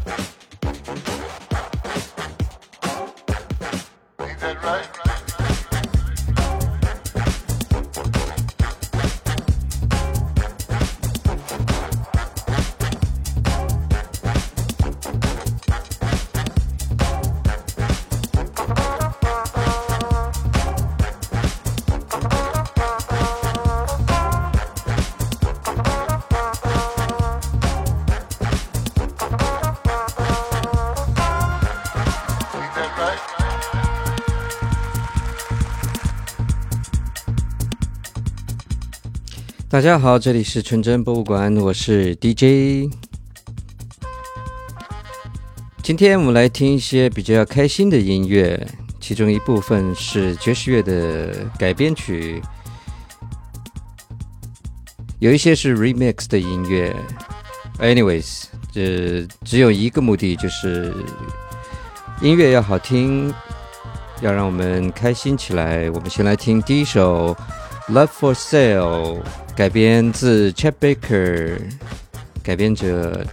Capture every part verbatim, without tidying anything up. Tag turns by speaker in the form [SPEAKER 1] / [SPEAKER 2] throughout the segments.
[SPEAKER 1] 大家好，这里是纯真博物馆，我是 D J。今天我们来听一些比较开心的音乐，其中一部分是爵士乐的改编曲，有一些是 remix 的音乐。Anyways， 这只有一个目的，就是音乐要好听，要让我们开心起来。我们先来听第一首 Love for Sale， 改编自 Chet Baker， 改编者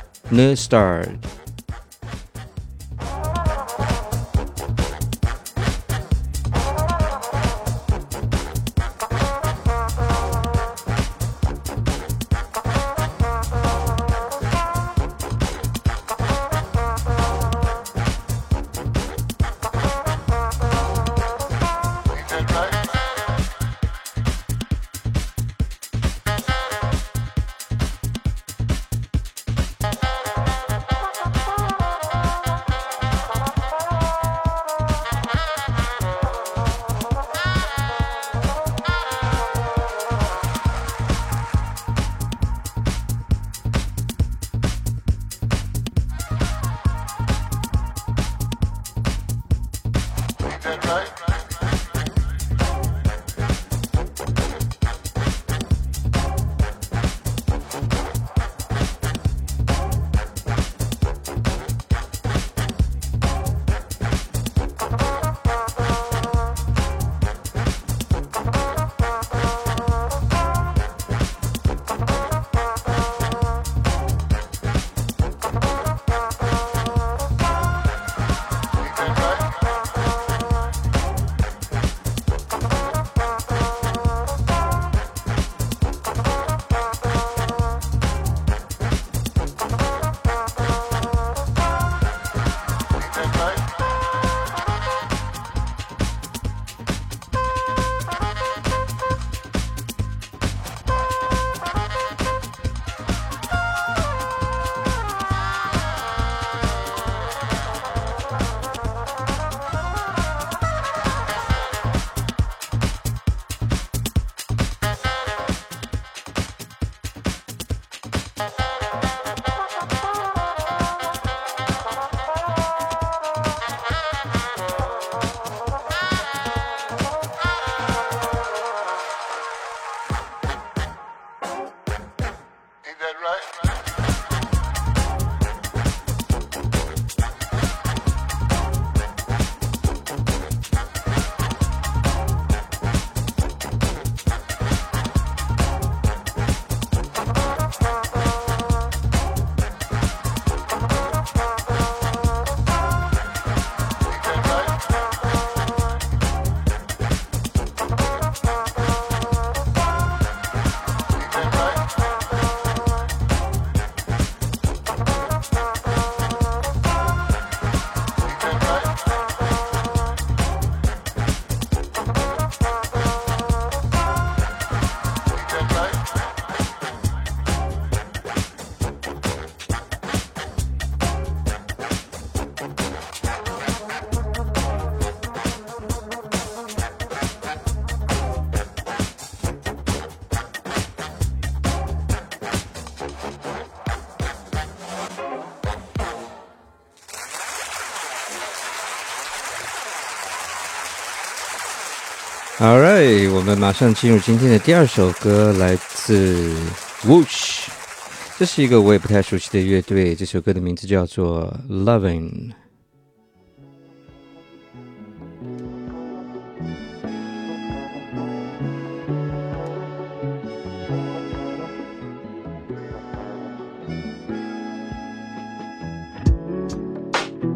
[SPEAKER 1] Neustar。Alright， 我们马上进入今天的第二首歌，来自 Whoosh， 这是一个我也不太熟悉的乐队，这首歌的名字叫做 Lovin'。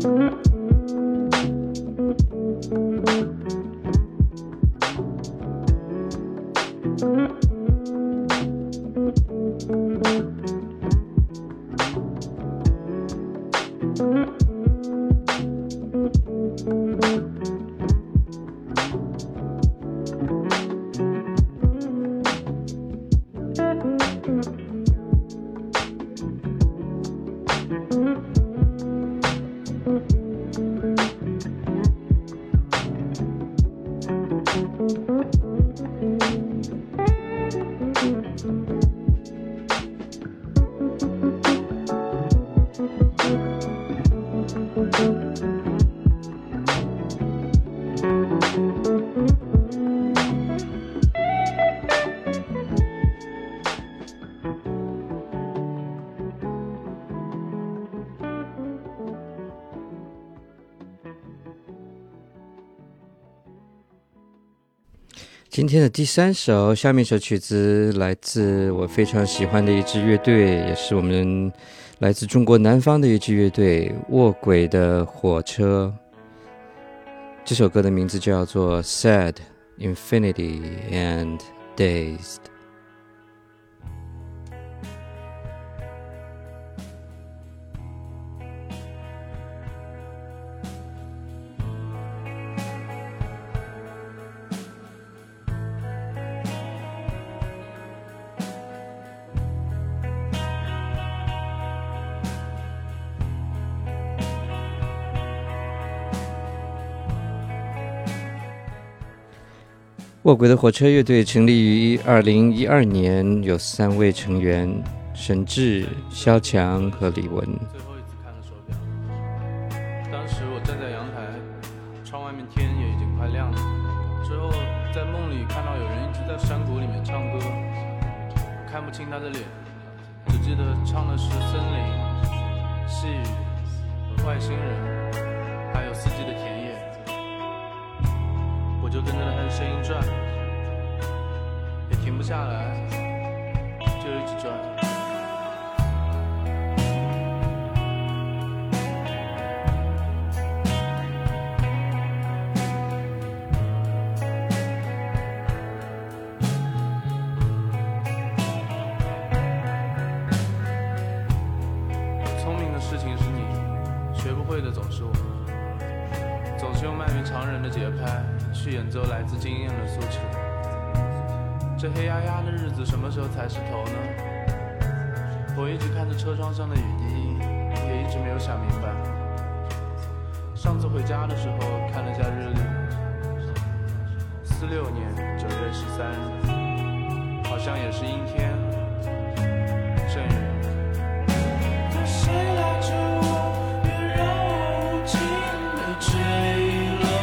[SPEAKER 1] 今天的第三首，下面一首曲子来自我非常喜欢的一支乐队，也是我们来自中国南方的一支乐队——卧轨的火车。这首歌的名字叫做 Sad, Infinity and Dazed。卧轨的火车乐队成立于二零一二年，有三位成员：沈志、萧强和李文。
[SPEAKER 2] 最后一次看了手表，当时我站在阳台，窗外面天也已经快亮了。之后在梦里看到有人一直在山谷里面唱歌，看不清他的脸，只记得唱的是森林、细雨、外星人，还有四季的田野。我就跟着他的声音转，也停不下来，就一直转。聪明的事情是你，学不会的总是我，总是用慢于常人的节拍去演奏来自经验的诉求。这黑压压的日子什么时候才是头呢？我一直看着车窗上的雨滴，也一直没有想明白。上次回家的时候看了下日历，四六年九月十三日，好像也是阴天阵雨。谁拉着我，别让我无尽的坠落。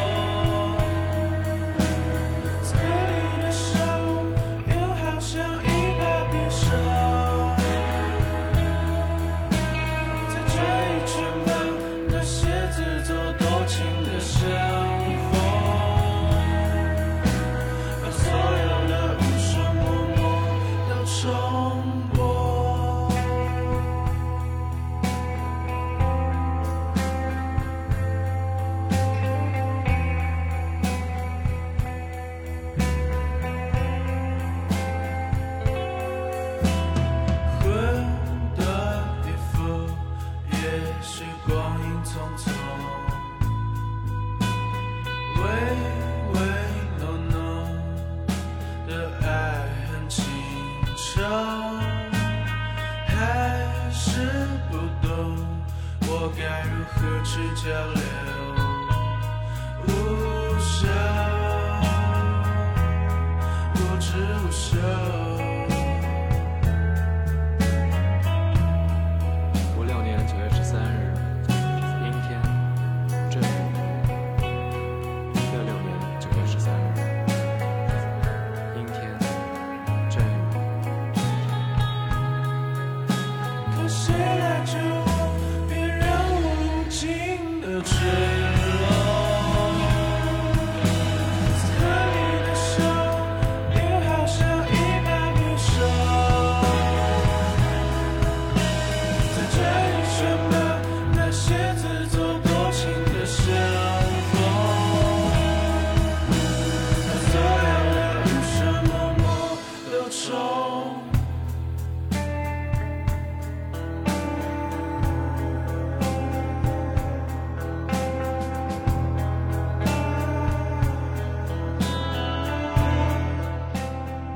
[SPEAKER 2] 交流无效，无知无休。五六年九月十三日，阴天阵雨。六六年九月十三日，阴天阵雨。可谁来救我？别让我无尽的坠落。在你的手，又好像一把匕首，在这里什么那些自作多情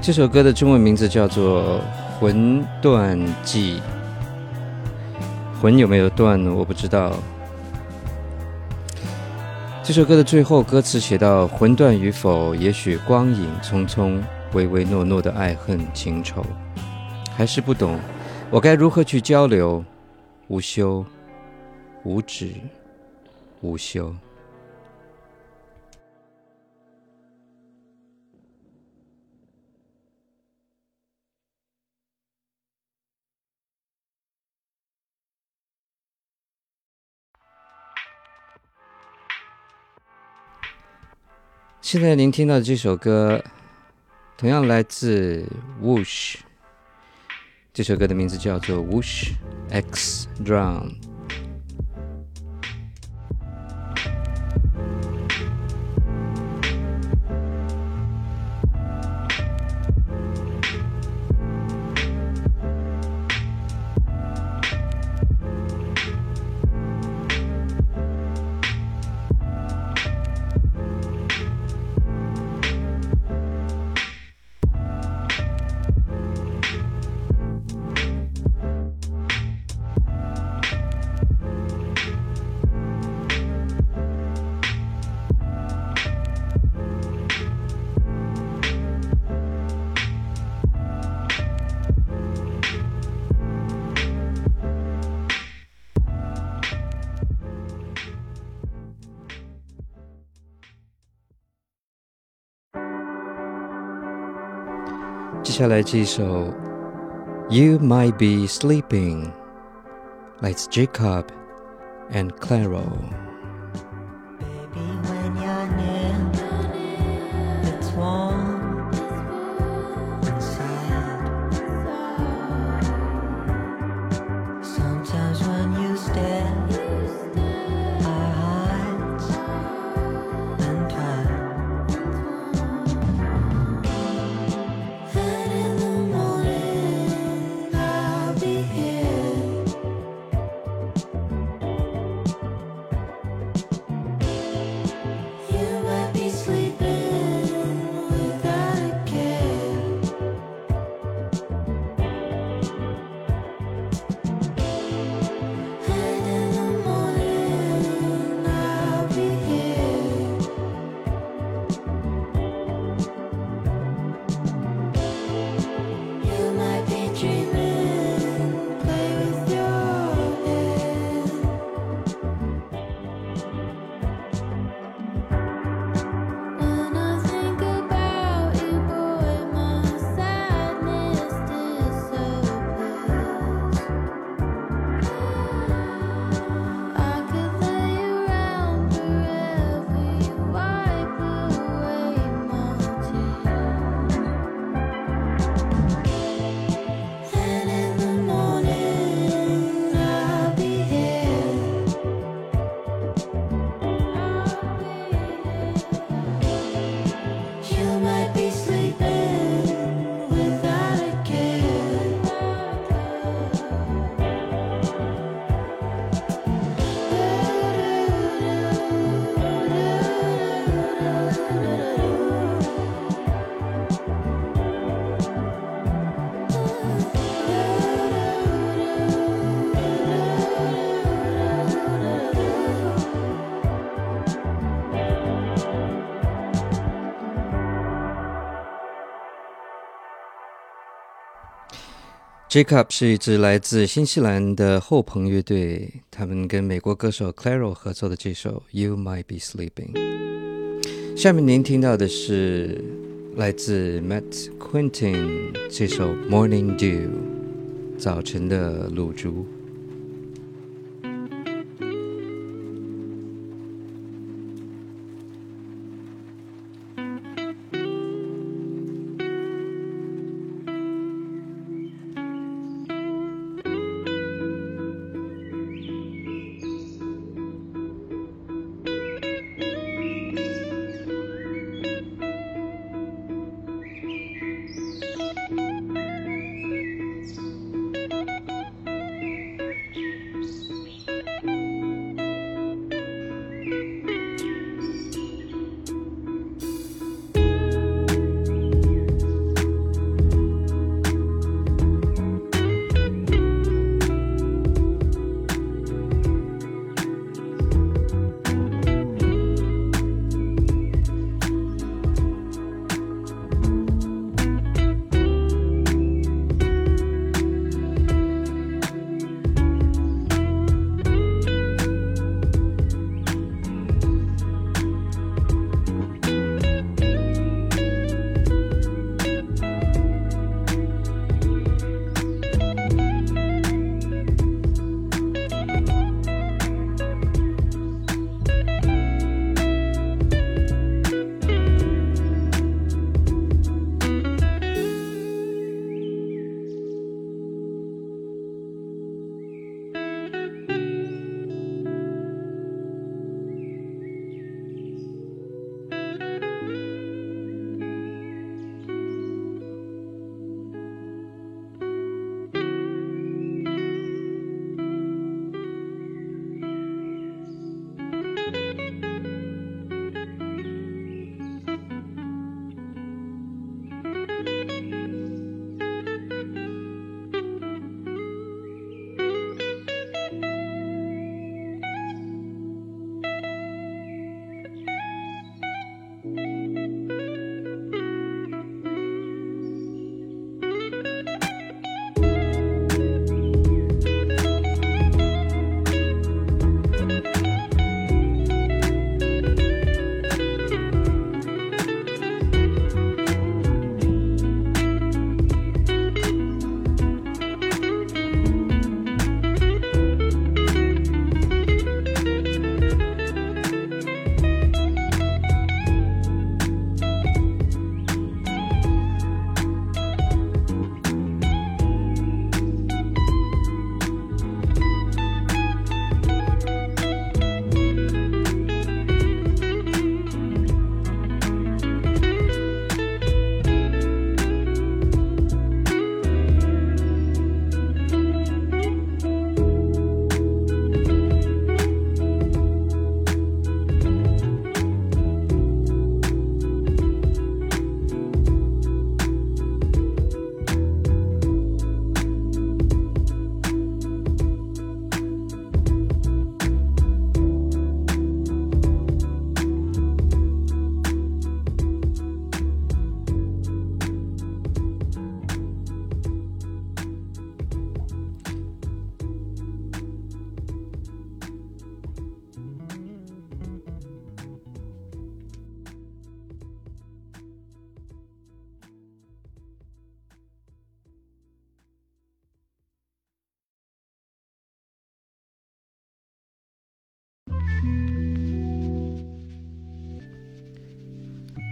[SPEAKER 1] 这首歌的中文名字叫做《魂断记》，魂有没有断我不知道。这首歌的最后歌词写到：魂断与否，也许光影匆匆，唯唯诺诺的爱恨情仇，还是不懂我该如何去交流，无休无止无休。现在您听到的这首歌同样来自 Whoosh， 这首歌的名字叫做 Whoosh X Drown。接下来这一首 You Might Be Sleeping 来自 Jacob and Clairo。
[SPEAKER 3] Baby, when you're near, it's warm inside. Sometimes when you stare, our hearts entwine. And in the morning, I'll be here. You might be sleeping without a care. And in the morning, I'll be here. You might be dreaming, play with your head. When I think about you, boy, my sadness disappears. I could lay around forever, you wipe away my tears. And in the morning, I'll be here. You might be sleeping without a care.
[SPEAKER 1] Jacob 是一支来自新西兰的后朋乐队，他们跟美国歌手 Clairo 合作的这首 You Might Be Sleeping。 下面您听到的是来自 Matt Quentin 这首 Morning Dew 早晨的露珠。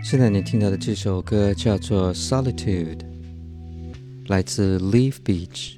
[SPEAKER 1] 现在你听到的这首歌叫做 Solitude， 来自 Leaf Beach。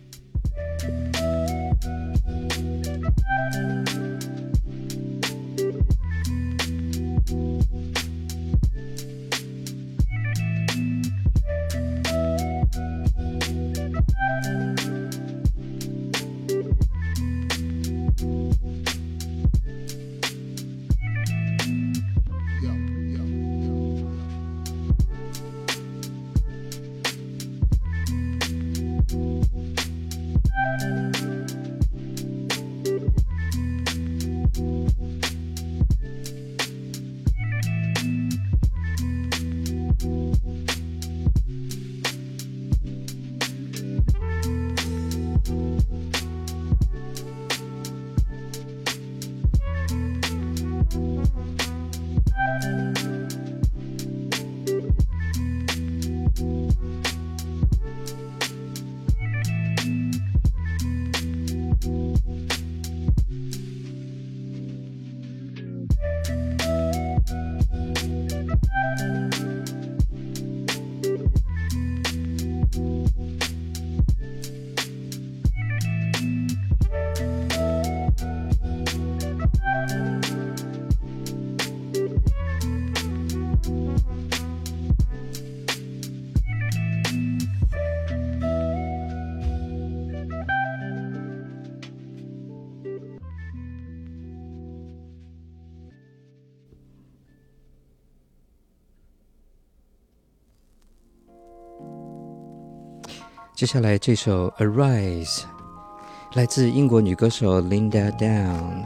[SPEAKER 1] 接下来这首 Arise 来自英国女歌手 Linda Down，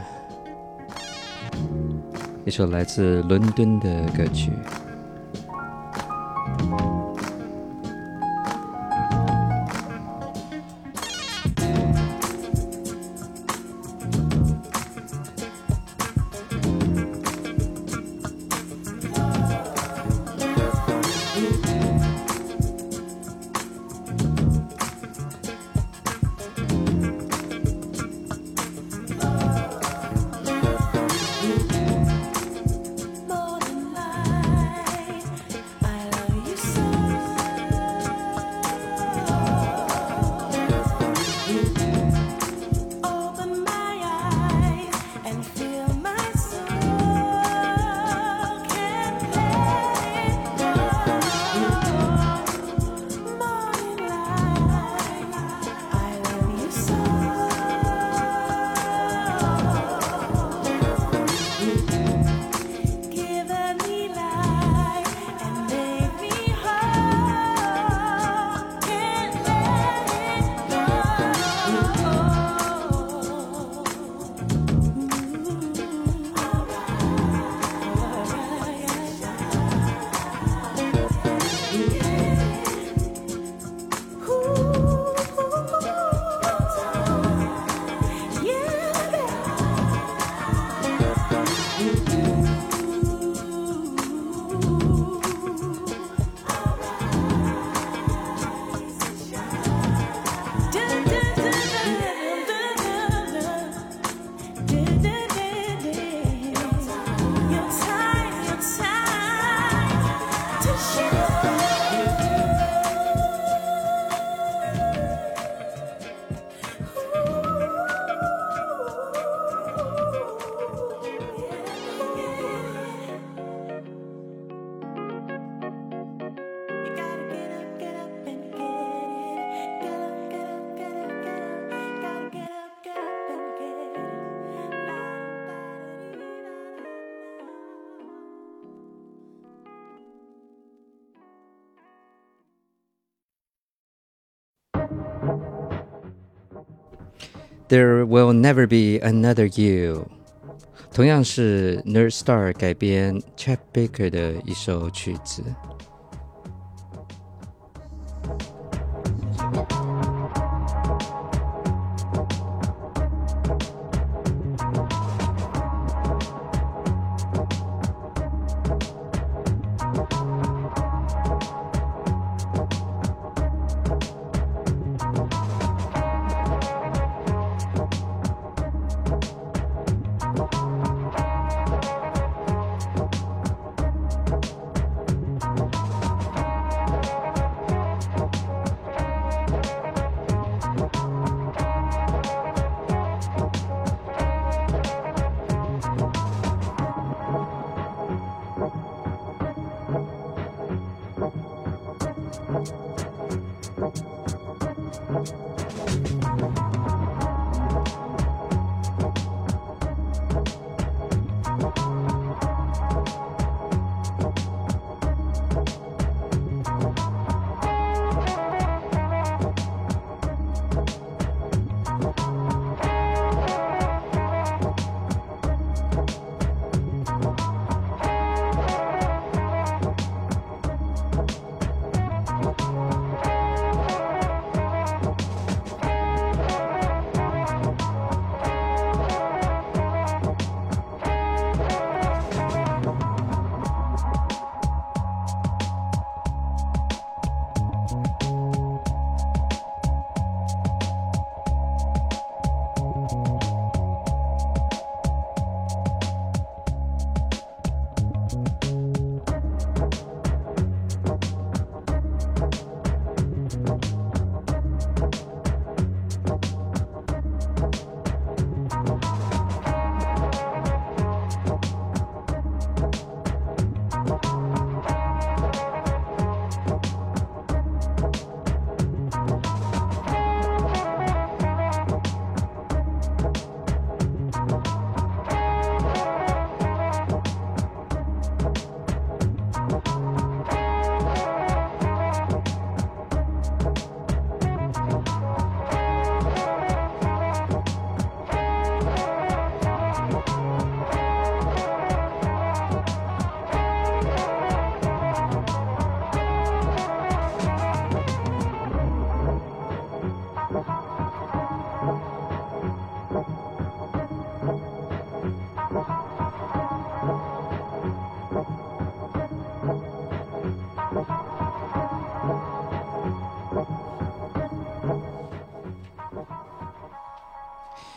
[SPEAKER 1] 一首来自伦敦的歌曲。There will never be another you， 同样是 Nerd Star 改编 Chet Baker 的一首曲子。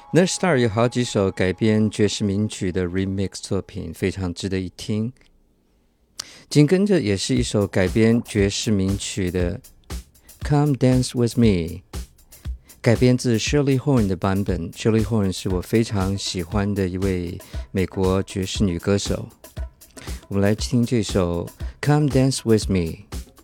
[SPEAKER 1] Nerd Star 有好几首改编爵士名曲的 remix 作品，非常值得一听。紧跟着也是一首改编爵士名曲的 Come Dance With Me， 改编自 Shirley Horn 的版本。 Shirley Horn 是我非常喜欢的一位美国爵士女歌手。我们来听这首 Come Dance With Me。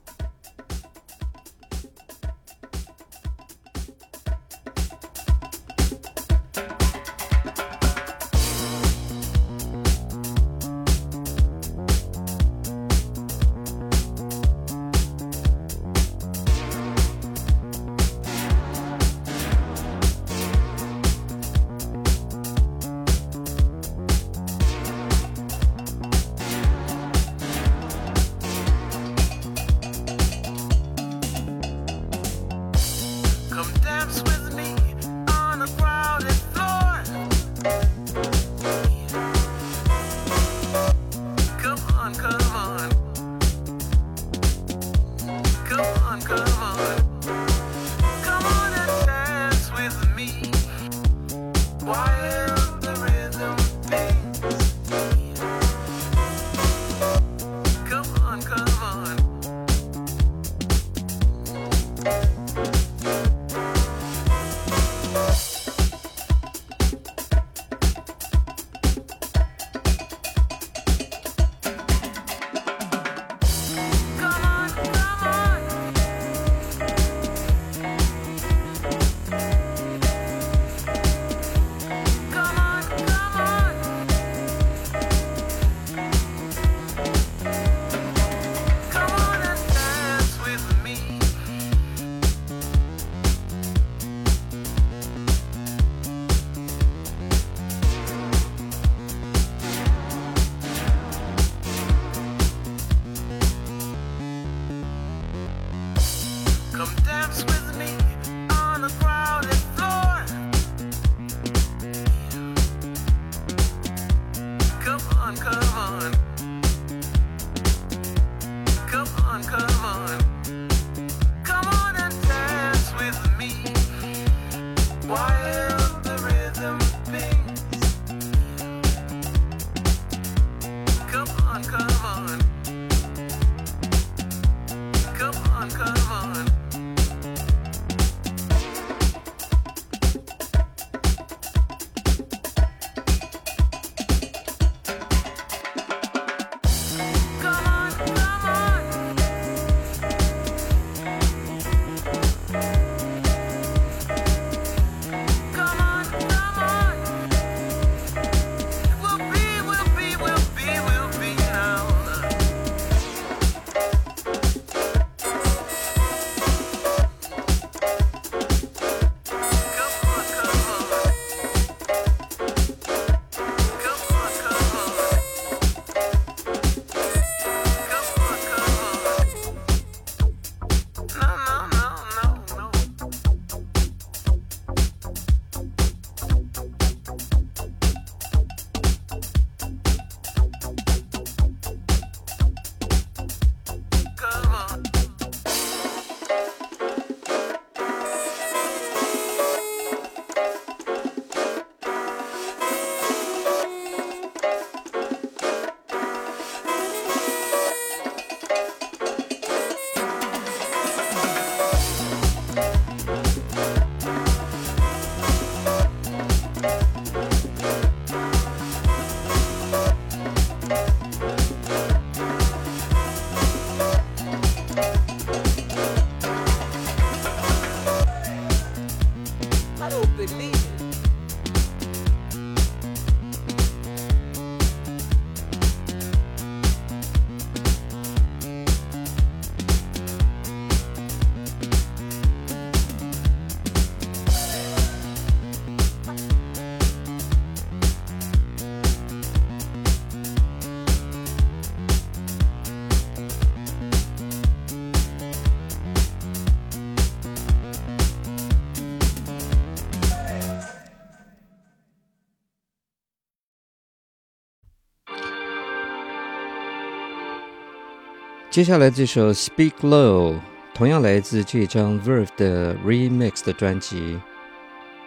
[SPEAKER 1] 接下来这首 Speak Low 同样来自这张 Verve 的 Remix 的专辑，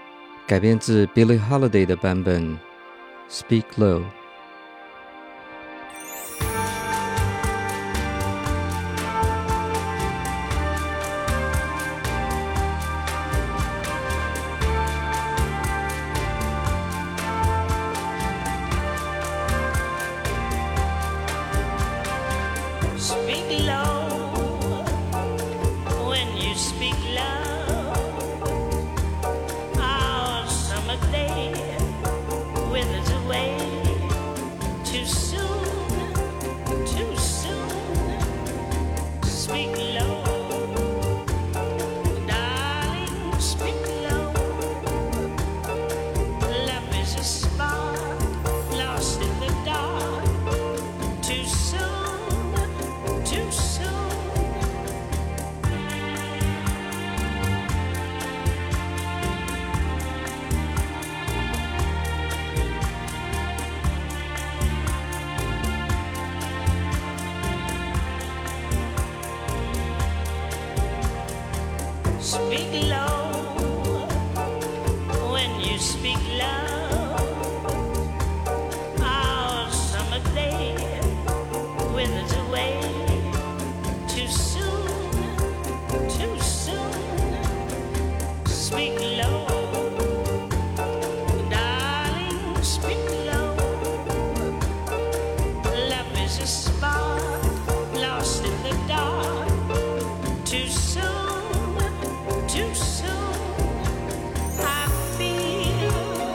[SPEAKER 1] 改编自 Billie Holiday 的版本 Speak Low。
[SPEAKER 4] Speak low when you speak low. Our summer day withers away too soon, too soon. Speak low, darling, speak low. Love is a spark lost in the dark. Too soon, too soon. Speak low when you speak low. Our summer day withers away too soon, too soon. Speak low, darling, speak low. Love is a spark lost in the dark. Too soon, too soon. I feel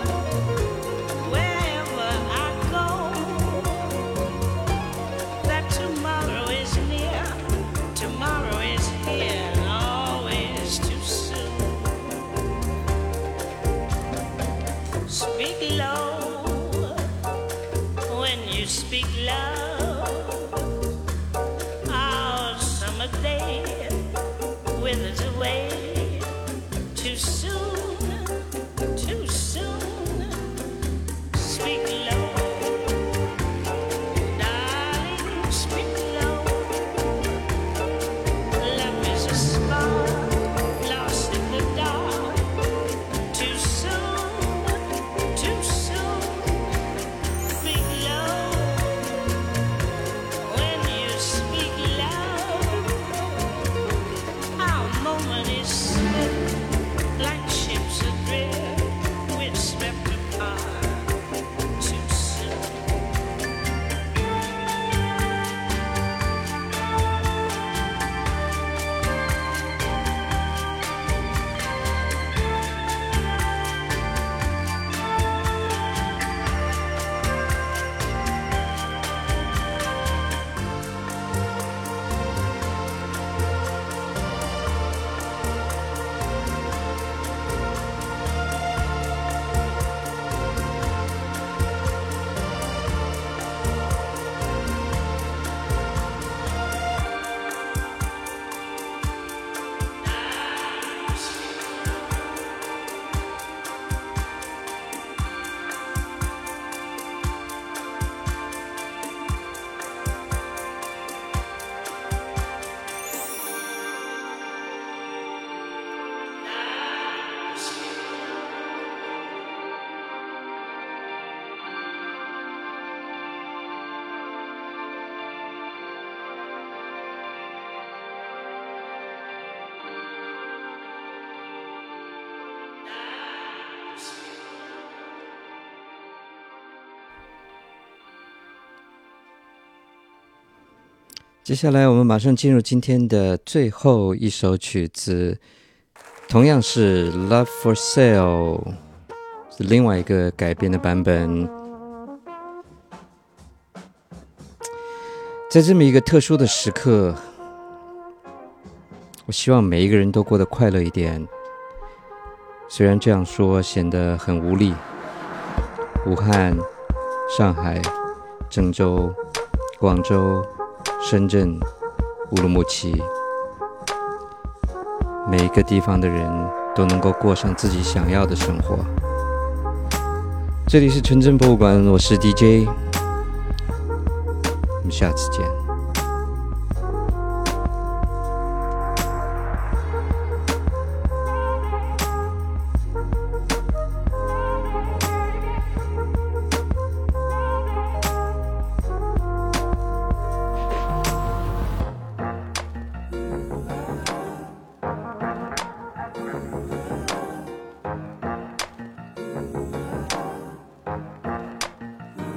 [SPEAKER 4] wherever I go that tomorrow is near, tomorrow is here, always too soon. Speak low when you speak low. Our summer day withers away too soon, too soon. Speak low, darling, speak low. Love is a spark lost in the dark. Too soon, too soon. Speak low when you speak loud. Our moment is slipped like ships adrift. We're swept apart too soon.
[SPEAKER 1] 接下来我们马上进入今天的最后一首曲子，同样是 Love for Sale， 是另外一个改编的版本。在这么一个特殊的时刻，我希望每一个人都过得快乐一点。虽然这样说显得很无力。武汉、上海、郑州、广州、深圳、乌鲁木齐，每一个地方的人都能够过上自己想要的生活。这里是纯真博物馆，我是 D J， 我们下次见。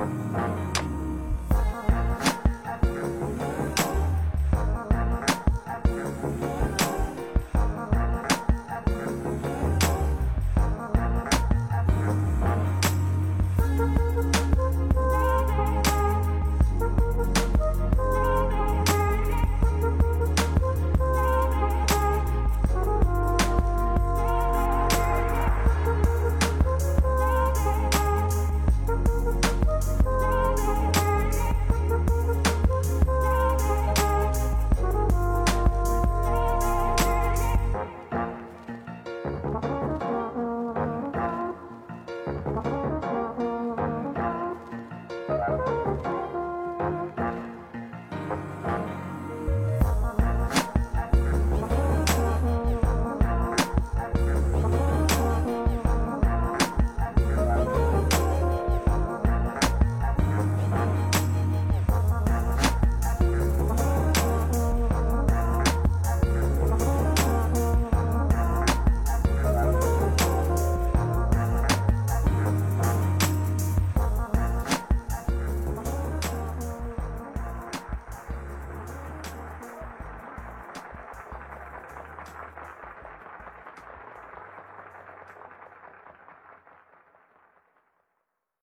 [SPEAKER 3] Thank